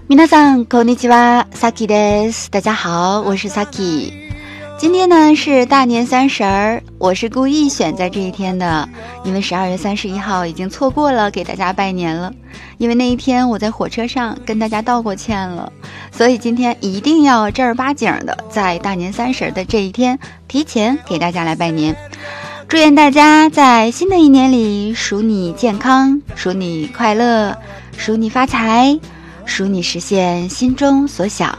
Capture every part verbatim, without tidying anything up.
皆さんこんにちは、Sakiです。大家好，我是 Saki。今天呢是大年三十儿，我是故意选在这一天的，因为十二月三十一号已经错过了给大家拜年了。因为那一天我在火车上跟大家道过歉了，所以今天一定要正儿八经的在大年三十的这一天提前给大家来拜年。祝愿大家在新的一年里，属你健康，属你快乐，属你发财，属你实现心中所想。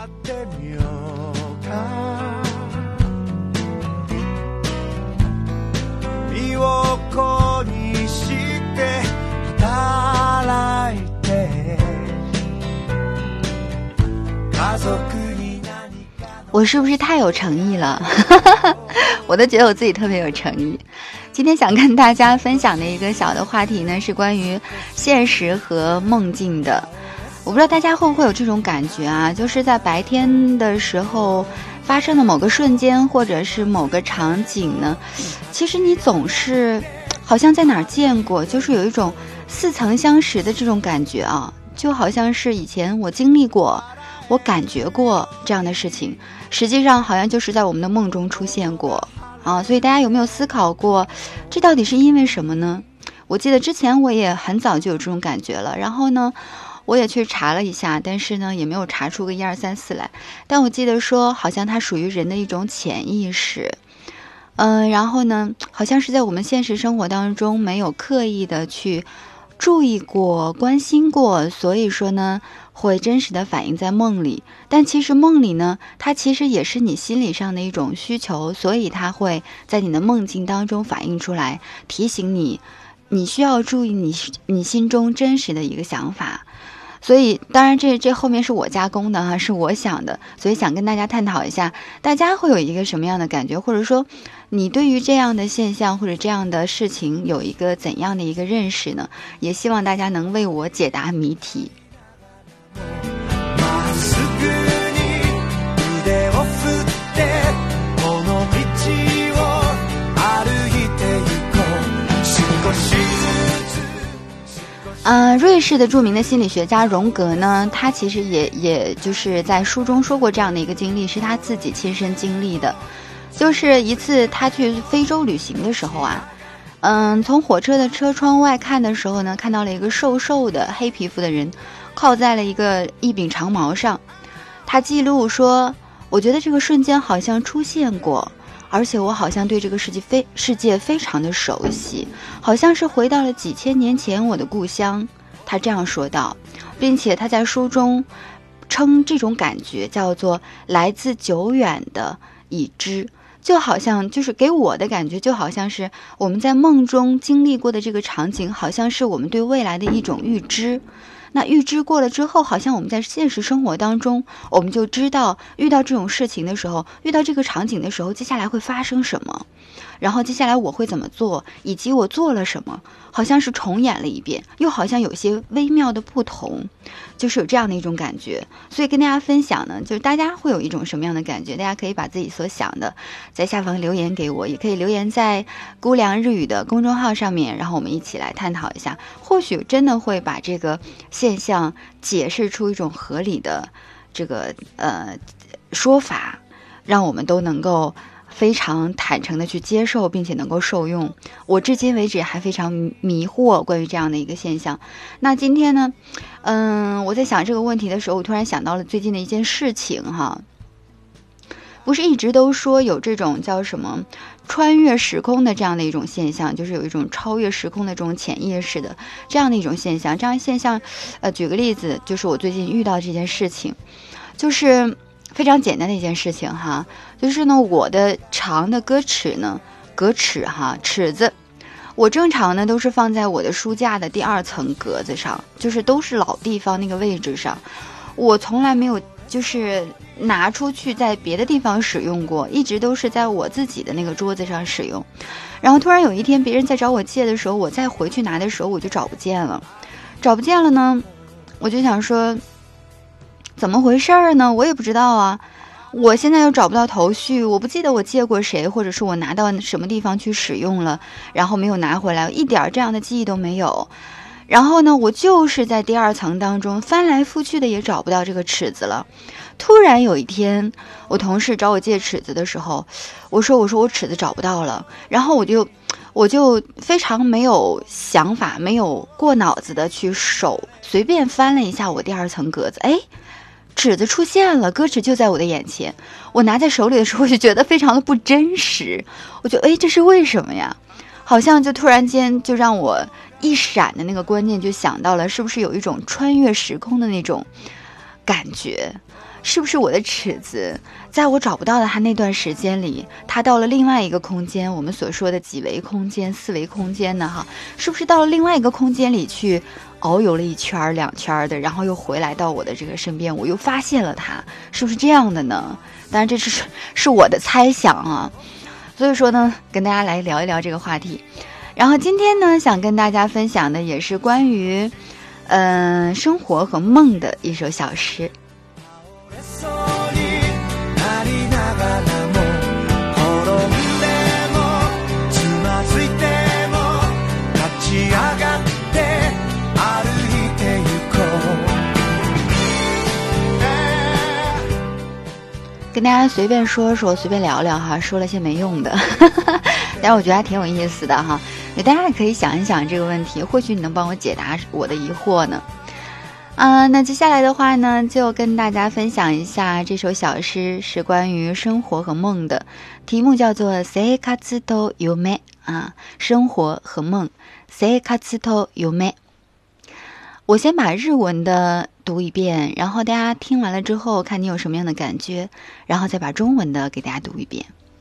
我是不是太有诚意了？我都觉得我自己特别有诚意。今天想跟大家分享的一个小的话题呢，是关于现实和梦境的。我不知道大家会不会有这种感觉啊，就是在白天的时候发生的某个瞬间，或者是某个场景呢，其实你总是好像在哪儿见过，就是有一种似曾相识的这种感觉啊，就好像是以前我经历过，我感觉过这样的事情，实际上好像就是在我们的梦中出现过啊。所以大家有没有思考过，这到底是因为什么呢？我记得之前我也很早就有这种感觉了，然后呢我也去查了一下，但是呢也没有查出个一二三四来。但我记得说好像它属于人的一种潜意识，嗯、呃，然后呢好像是在我们现实生活当中没有刻意的去注意过、关心过，所以说呢会真实的反映在梦里。但其实梦里呢，它其实也是你心理上的一种需求，所以它会在你的梦境当中反映出来，提醒你你需要注意你你心中真实的一个想法。所以当然这这后面是我加工的哈，是我想的，所以想跟大家探讨一下，大家会有一个什么样的感觉，或者说你对于这样的现象或者这样的事情有一个怎样的一个认识呢？也希望大家能为我解答谜题。呃，瑞士的著名的心理学家荣格呢，他其实也也就是在书中说过这样的一个经历，是他自己亲身经历的。就是一次他去非洲旅行的时候啊，嗯，从火车的车窗外看的时候呢，看到了一个瘦瘦的黑皮肤的人靠在了一个一柄长矛上。他记录说，我觉得这个瞬间好像出现过，而且我好像对这个世界非世界非常的熟悉，好像是回到了几千年前我的故乡。他这样说道，并且他在书中称这种感觉叫做来自久远的已知，就好像就是给我的感觉就好像是我们在梦中经历过的这个场景，好像是我们对未来的一种预知。那预知过了之后，好像我们在现实生活当中，我们就知道遇到这种事情的时候，遇到这个场景的时候，接下来会发生什么，然后接下来我会怎么做，以及我做了什么，好像是重演了一遍，又好像有些微妙的不同，就是有这样的一种感觉。所以跟大家分享呢，就是大家会有一种什么样的感觉，大家可以把自己所想的在下方留言给我，也可以留言在姑凉日语的公众号上面，然后我们一起来探讨一下，或许真的会把这个现象解释出一种合理的这个呃说法，让我们都能够非常坦诚的去接受，并且能够受用。我至今为止还非常迷惑关于这样的一个现象。那今天呢，嗯，我在想这个问题的时候，我突然想到了最近的一件事情哈。不是一直都说有这种叫什么穿越时空的这样的一种现象，就是有一种超越时空的这种潜意识的这样的一种现象。这样现象，呃，举个例子，就是我最近遇到这件事情，就是非常简单的一件事情哈，就是呢，我的长的歌尺呢，格尺哈，尺子，我正常呢都是放在我的书架的第二层格子上，就是都是老地方那个位置上，我从来没有就是拿出去在别的地方使用过，一直都是在我自己的那个桌子上使用。然后突然有一天别人在找我借的时候，我再回去拿的时候我就找不见了，找不见了呢，我就想说怎么回事儿呢？我也不知道啊，我现在又找不到头绪，我不记得我借过谁，或者是我拿到什么地方去使用了，然后没有拿回来，一点这样的记忆都没有。 然后呢，我就是在第二层当中翻来覆去的也找不到这个尺子了。突然有一天，我同事找我借尺子的时候，我说我说我尺子找不到了，然后我就我就非常没有想法，没有过脑子的去手随便翻了一下我第二层格子，哎，尺子出现了，歌尺就在我的眼前。我拿在手里的时候就觉得非常的不真实，我就哎，这是为什么呀？好像就突然间就让我一闪的那个观念就想到了，是不是有一种穿越时空的那种感觉？是不是我的尺子在我找不到的它那段时间里，它到了另外一个空间，我们所说的几维空间、四维空间呢？哈，是不是到了另外一个空间里去遨游了一圈两圈的，然后又回来到我的这个身边，我又发现了它，是不是这样的呢？当然这是是我的猜想啊。所以说呢，跟大家来聊一聊这个话题。然后今天呢，想跟大家分享的也是关于嗯、呃、生活和梦的一首小诗。跟大家随便说说，随便聊聊哈，说了些没用的，但是我觉得还挺有意思的哈。大家也可以想一想这个问题，或许你能帮我解答我的疑惑呢。啊、呃，那接下来的话呢，就跟大家分享一下这首小诗，是关于生活和梦的，题目叫做生活と夢啊，生活和梦，生活と夢。我先把日文的读一遍，然后大家听完了之后看你有什么样的感觉，然后再把中文的给大家读一遍。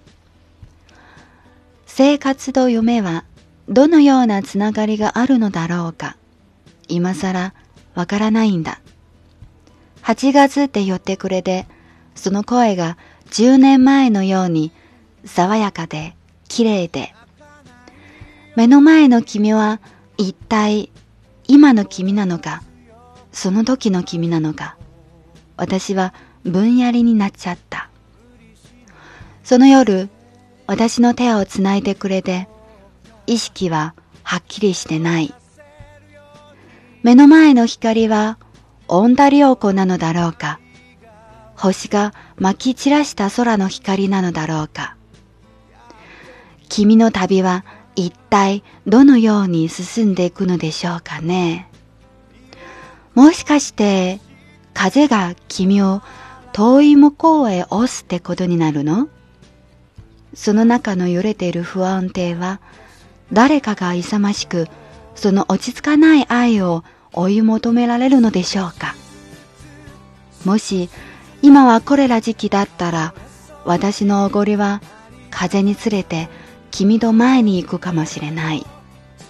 生活と夢はどのようなつながりがあるのだろうか。今更わからないんだ。はちがつって言ってくれて、その声がじゅうねんまえのように爽やかで綺麗で、目の前の君は一体今の君なのか、その時の君なのか、私はぼんやりになっちゃった。その夜、私の手をつないでくれて、意識ははっきりしてない。目の前の光はオンタリオ湖なのだろうか、星が撒き散らした空の光なのだろうか。君の旅は一体どのように進んでいくのでしょうかね。もしかして風が君を遠い向こうへ押すってことになるの？その中の揺れている不安定は誰かが勇ましくその落ち着かない愛を追い求められるのでしょうか。もし今はこれら時期だったら、私のおごりは風につれて君と前に行くかもしれない。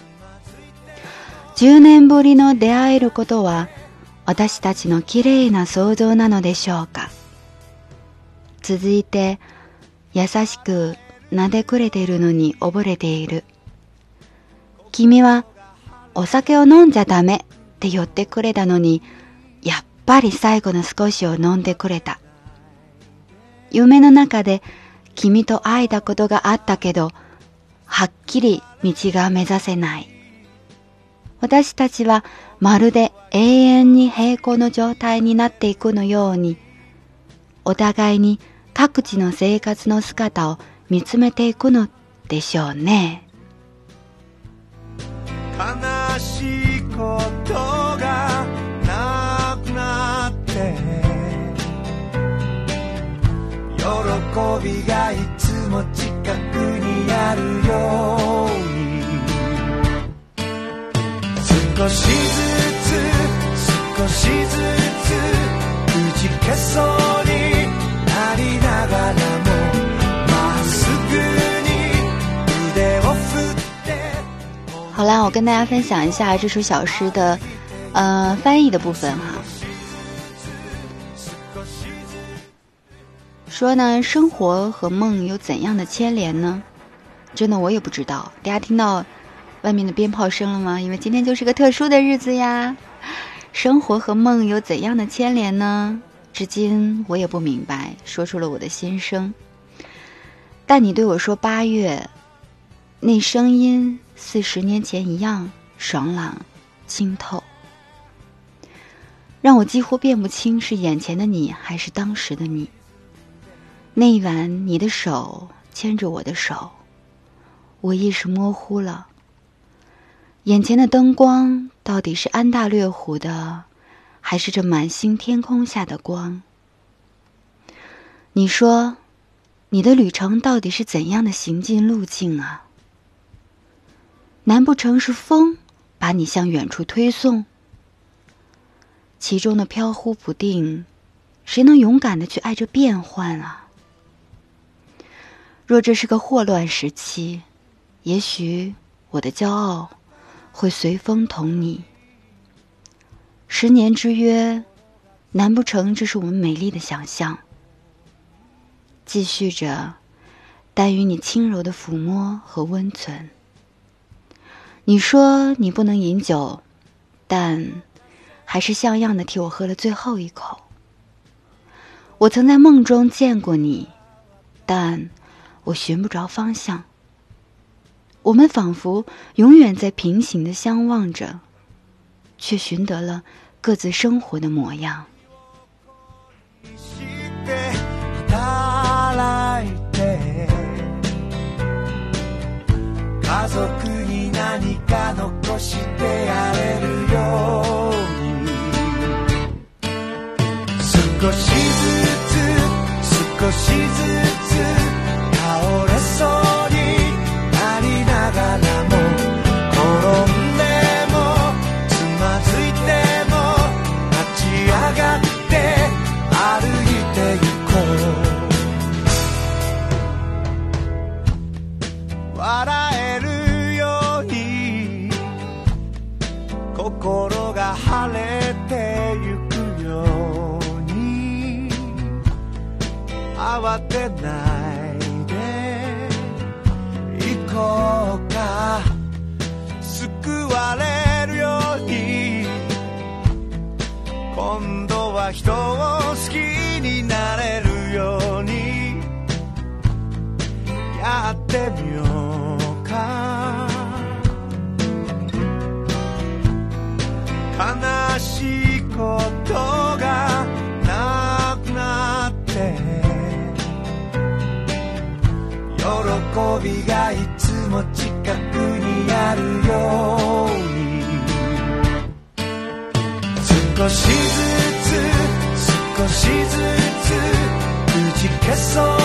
十年ぶりの出会えることは私たちのきれいな想像なのでしょうか。続いて優しく撫でくれているのに溺れている。君はお酒を飲んじゃダメって言ってくれたのに、やっぱり最後の少しを飲んでくれた。夢の中で君と会えたことがあったけど、はっきり道が目指せない。私たちはまるで永遠に平行の状態になっていくのように、お互いに各地の生活の姿を見つめていくのでしょうね。 悲しいことがなくなって喜びがいつも近くにあるように、少しずつ少しずつくじけそうになりながらも、まっすぐに腕を振って。 好啦，我跟大家分享一下这首小诗的呃翻译的部分哈。说呢，生活和梦有怎样的牵连呢？真的我也不知道。大家听到外面的鞭炮声了吗？因为今天就是个特殊的日子呀。生活和梦有怎样的牵连呢？至今我也不明白，说出了我的心声。但你对我说八月，那声音似十年前一样爽朗清透，让我几乎辨不清是眼前的你还是当时的你。那一晚你的手牵着我的手，我意识模糊了，眼前的灯光到底是安大略湖的，还是这满星天空下的光？你说你的旅程到底是怎样的行进路径啊？难不成是风把你向远处推送？其中的飘忽不定，谁能勇敢地去爱这变幻啊？若这是个霍乱时期，也许我的骄傲会随风同你。十年之约，难不成这是我们美丽的想象？继续着，但与你轻柔的抚摸和温存。你说你不能饮酒，但还是像样的替我喝了最后一口。我曾在梦中见过你，但我寻不着方向。我们仿佛永远在平行的相望着，却寻得了各自生活的模样。 家族に何か残してやれるように少しずつ少しずつ倒れそうになりながらも転んでもつまずいても立ち上がって歩いてゆこう笑えるように心が晴れてゆくように慌てないで行こうか救われるように今度は人を好きになれるようにやってみようか悲しいことがなくなって喜びがいつも近くにあるように少しずつ少しずつくじけそう